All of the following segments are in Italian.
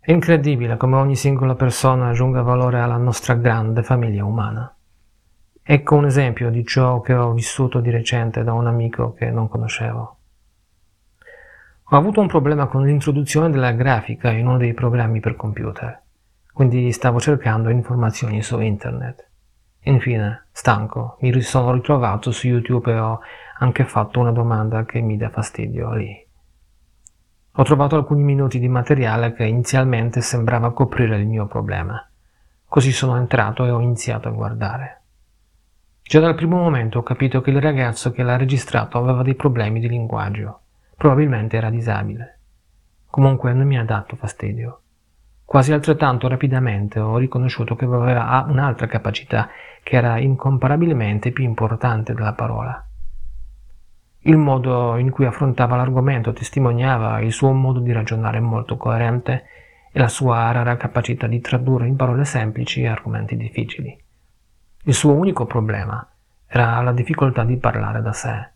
È incredibile come ogni singola persona aggiunga valore alla nostra grande famiglia umana. Ecco un esempio di ciò che ho vissuto di recente da un amico che non conoscevo. Ho avuto un problema con l'introduzione della grafica in uno dei programmi per computer, quindi stavo cercando informazioni su internet. Infine, stanco, mi sono ritrovato su YouTube e ho anche fatto una domanda che mi dà fastidio lì. Ho trovato alcuni minuti di materiale che inizialmente sembrava coprire il mio problema. Così sono entrato e ho iniziato a guardare. Già dal primo momento ho capito che il ragazzo che l'ha registrato aveva dei problemi di linguaggio. Probabilmente era disabile. Comunque non mi ha dato fastidio. Quasi altrettanto rapidamente ho riconosciuto che aveva un'altra capacità che era incomparabilmente più importante della parola. Il modo in cui affrontava l'argomento testimoniava il suo modo di ragionare molto coerente e la sua rara capacità di tradurre in parole semplici argomenti difficili. Il suo unico problema era la difficoltà di parlare da sé.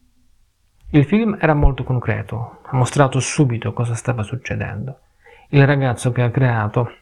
Il film era molto concreto, ha mostrato subito cosa stava succedendo. Il ragazzo che ha creato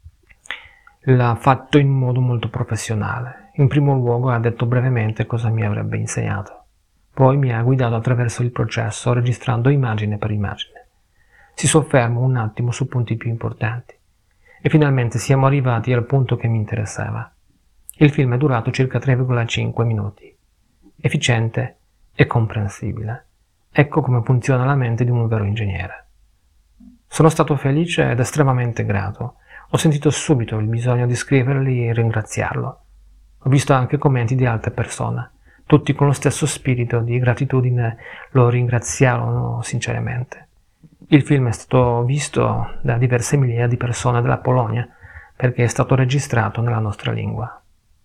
l'ha fatto in modo molto professionale. In primo luogo ha detto brevemente cosa mi avrebbe insegnato. Poi mi ha guidato attraverso il processo, registrando immagine per immagine. Si sofferma un attimo su punti più importanti. E finalmente siamo arrivati al punto che mi interessava. Il film è durato circa 3,5 minuti. Efficiente e comprensibile. Ecco come funziona la mente di un vero ingegnere. Sono stato felice ed estremamente grato. Ho sentito subito il bisogno di scrivergli e ringraziarlo. Ho visto anche commenti di altre persone. Tutti con lo stesso spirito di gratitudine lo ringraziarono sinceramente. Il film è stato visto da diverse migliaia di persone della Polonia perché è stato registrato nella nostra lingua.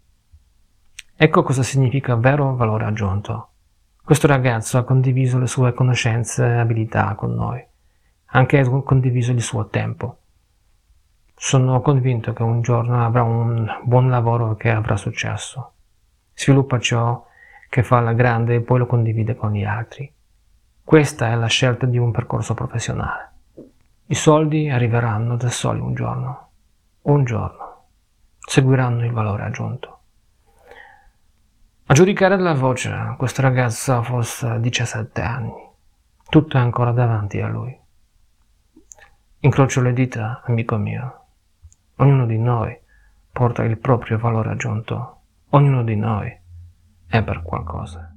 Ecco cosa significa vero valore aggiunto. Questo ragazzo ha condiviso le sue conoscenze e abilità con noi, anche ha condiviso il suo tempo. Sono convinto che un giorno avrà un buon lavoro e che avrà successo. Sviluppa ciò che fa alla grande e poi lo condivide con gli altri. Questa è la scelta di un percorso professionale. I soldi arriveranno da soli un giorno. Un giorno. Seguiranno il valore aggiunto. A giudicare dalla voce, questa ragazza ha forse 17 anni. Tutto è ancora davanti a lui. Incrocio le dita, amico mio. Ognuno di noi porta il proprio valore aggiunto. Ognuno di noi è per qualcosa.